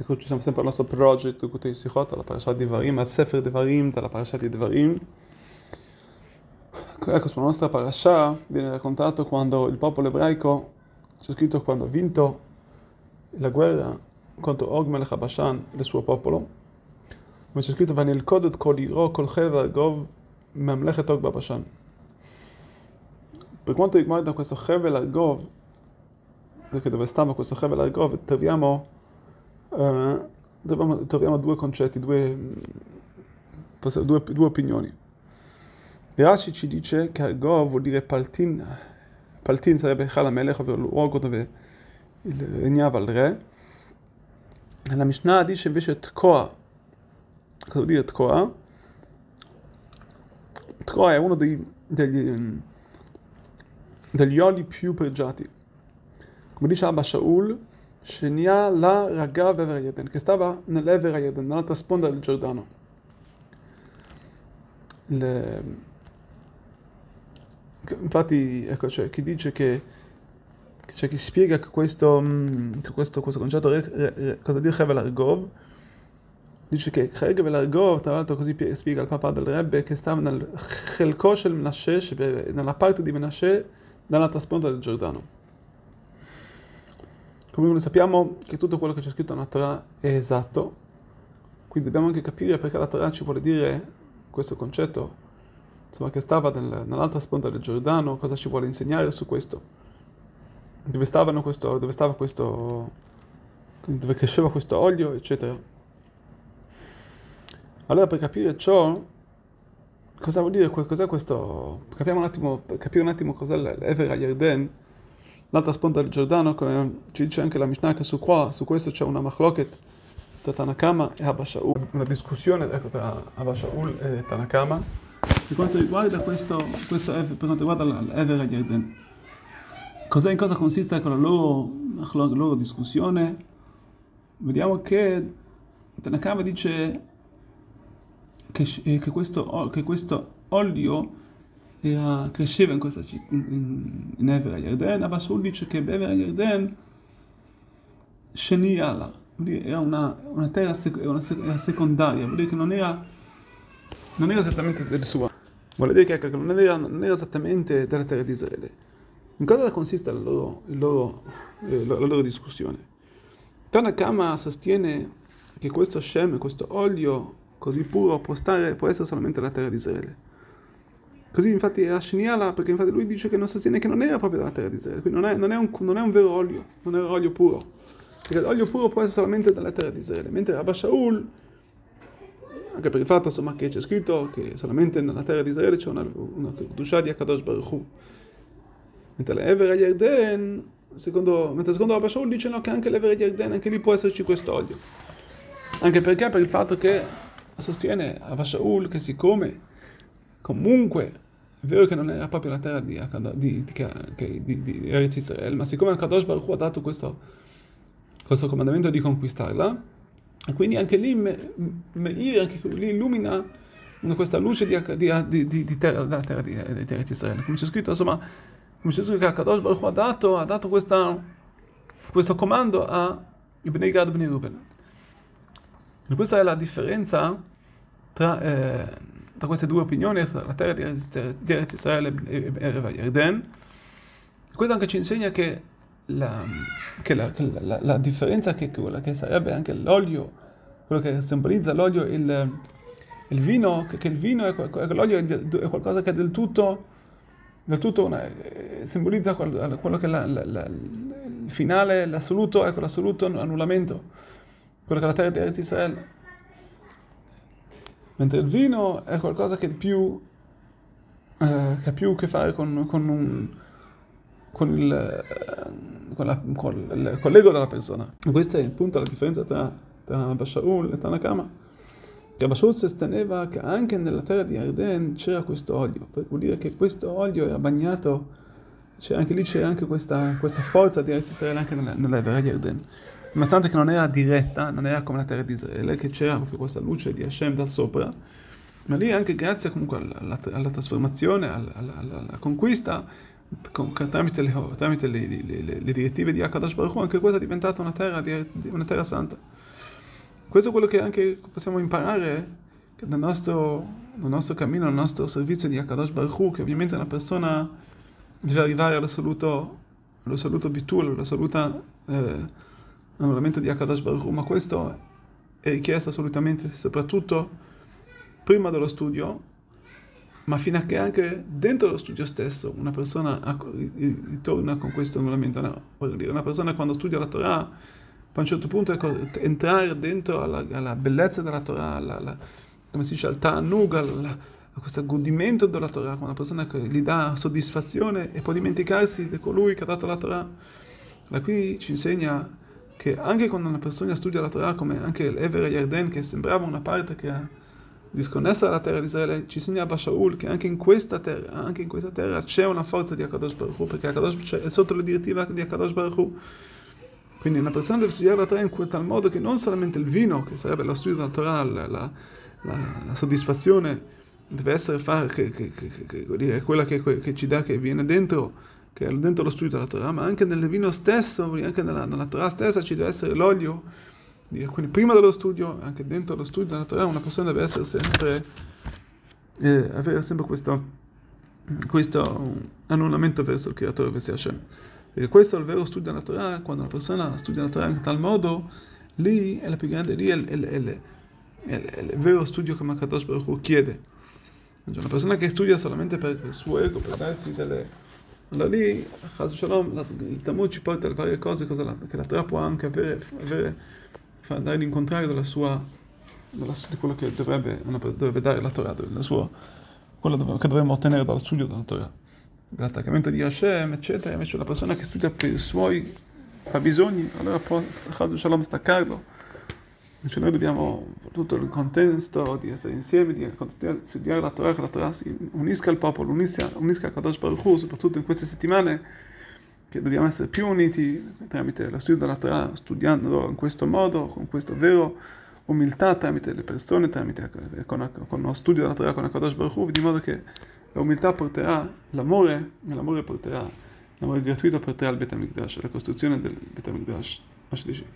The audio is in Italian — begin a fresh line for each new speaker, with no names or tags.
ecco, ci siamo sempre al nostro project, Kutei Sichot, alla parashat Devarim, al Sefer Devarim, dalla parashat di Devarim. Ecco, sulla nostra parasha viene raccontato quando il popolo ebraico, c'è scritto quando ha vinto la guerra contro Og Melech Bashan, il suo popolo, come c'è scritto, Vanil Kodot Kol Iro Kol Chel Vargov Mamlechet Og Bashan. Per quanto riguarda questo Hevel Argov, perché dove stava questo Hevel Argov, troviamo due concetti, due opinioni. Rashi ci dice che Argov vuol dire Paltin. Paltin sarebbe Chal HaMelech, ovvero il luogo dove regnava il re. La Mishnah dice invece Tkoa. Cosa vuol dire Tkoa? Tkoa è uno degli oli più pregiati. Come dice Abba Shaul, Shenia la Ragav Ever Yarden, che stava nell'Ever Yarden, nell'altra sponda del Giordano. Infatti, ecco, cioè, chi dice che c'è chi spiega che questo concetto, cosa dire Hevel Argov, dice che Hevel Argov, tra l'altro così spiega il papà del Rebbe, che stava nel Chelko shel Menashe, nella parte di Menashe, dall'altra sponda del Giordano. Come sappiamo che tutto quello che c'è scritto nella Torah è esatto, quindi dobbiamo anche capire perché la Torah ci vuole dire questo concetto, insomma, che stava nell'altra sponda del Giordano, cosa ci vuole insegnare su questo, dove cresceva questo olio, eccetera. Allora, per capire ciò, cosa vuol dire, cos'è questo, capire un attimo cos'è l'Ever HaYarden, l'altra sponda del Giordano, come ci dice anche la Mishnah, che su questo c'è una machloket tra Tanakama e Abba Shaul, una discussione, ecco, tra Abba Shaul e Tanakama, per quanto riguarda per quanto riguarda l'Ever HaYarden. In cosa consiste con la loro discussione? Vediamo che Tanakama dice che questo olio cresceva in Ever HaYarden. Abba Shaul dice che Ever HaYarden Sheniala, era una terra secondaria, vuol dire che non era esattamente del suo. Vuol dire che non era esattamente della terra di Israele. In cosa consiste la loro discussione? Tanakama sostiene che questo Shem, questo olio così puro, può essere solamente la terra di Israele. Così infatti era Sheniala, perché infatti lui dice che non sostiene che non era proprio della terra di Israele, quindi non è un vero olio, non è un olio puro. Perché l'olio puro può essere solamente dalla terra di Israele, mentre Abba Shaul, anche per il fatto insomma che c'è scritto che solamente nella terra di Israele c'è una Kedusha di Akadosh Baruch Hu. Mentre l'Ever HaYarden, secondo Abba Shaul dice no, che anche l'Ever HaYarden, anche lì può esserci questo olio. Anche perché per il fatto che sostiene Abba Shaul che siccome comunque è vero che non era proprio la terra di Eretz Israele, ma siccome Akadosh Baruch Hu ha dato questo comandamento di conquistarla, e quindi anche lì anche lì illumina questa luce della terra di Eretz Israele. Come c'è scritto, insomma, che Akadosh Baruch Hu ha dato questo comando a Bnei Gad e Bnei Ruben. E questa è la differenza tra queste due opinioni, la terra di Eretz Israele e Ever HaYarden. Questo anche ci insegna che la differenza, che quella che sarebbe anche l'olio, quello che simbolizza l'olio, il vino, che il vino l'olio è qualcosa che è del tutto simbolizza quello che è il finale, l'assoluto annullamento, quello che è la terra di Eretz Israele. Mentre il vino è qualcosa che ha più a che fare con l'ego della persona. E questo è appunto la differenza tra Abba Shaul e Tanakama. Che Abba Shaul sosteneva che anche nella terra di Yarden c'era questo olio, vuol dire che questo olio era bagnato, anche lì c'era anche questa forza di Eretz Israele anche nell'Ever HaYarden. Nonostante che non era diretta, non era come la terra di Israele, che c'era proprio questa luce di Hashem da sopra, ma lì anche grazie comunque alla trasformazione, alla conquista, tramite le direttive di Akadosh Baruch Hu, anche questa è diventata una terra santa. questo è quello che anche possiamo imparare che nel nostro cammino, nel nostro servizio di Hakadosh Baruch Hu, che ovviamente una persona deve arrivare all'assoluto bitul, all'assoluto annullamento di Hakadosh Baruch Hu, ma questo è richiesto assolutamente, soprattutto prima dello studio, ma fino a che anche dentro lo studio stesso una persona ritorna con questo annullamento. Una persona quando studia la Torah, a un certo punto entrare dentro alla bellezza della Torah, come si dice, al ta'anug, a questo godimento della Torah, una persona che gli dà soddisfazione e può dimenticarsi di colui che ha dato la Torah. Da qui ci insegna che anche quando una persona studia la Torah, come anche l'Ever Yarden, che sembrava una parte che è disconnessa dalla terra di Israele, ci insegna Abba Shaul che anche in questa terra c'è una forza di Hakadosh Baruch Hu, perché Hakadosh è sotto la direttiva di Hakadosh Baruch Hu. Quindi una persona deve studiare la Torah in tal modo che non solamente il vino, che sarebbe lo studio della Torah, la soddisfazione, deve essere quella che ci dà, che viene dentro, che è dentro lo studio della Torah, ma anche nel vino stesso, anche nella Torah stessa ci deve essere l'olio. Quindi prima dello studio, anche dentro lo studio della Torah, una persona deve essere sempre, avere sempre questo annullamento verso il Creatore, verso Hashem. Perché questo è il vero studio della Torah. Quando una persona studia la Torah in tal modo, lì è la più grande, lì è il vero studio che Hakadosh Baruch Hu chiede. Una persona che studia solamente per il suo ego, per darsi delle... Allora lì, il Talmud ci porta a varie cose che la Torah può anche dare l'incontrario di quello che dovrebbe dare la Torah, quello che dovremmo ottenere dallo studio della Torah, dall'attaccamento di Hashem, eccetera. Invece la persona che studia per i suoi fabbisogni, allora può staccarlo. Invece noi dobbiamo, tutto il contesto di essere insieme, di studiare la Torah, che la Torah si unisca al popolo, unisca a Kadosh Baruch Hu, soprattutto in queste settimane, che dobbiamo essere più uniti tramite lo studio della Torah, studiando in questo modo, con questa vera umiltà tramite le persone, con lo studio della Torah, con Kadosh Baruch Hu, di modo che l'umiltà porterà l'amore, e l'amore gratuito porterà al Bet HaMikdash, alla costruzione del Bet HaMikdash.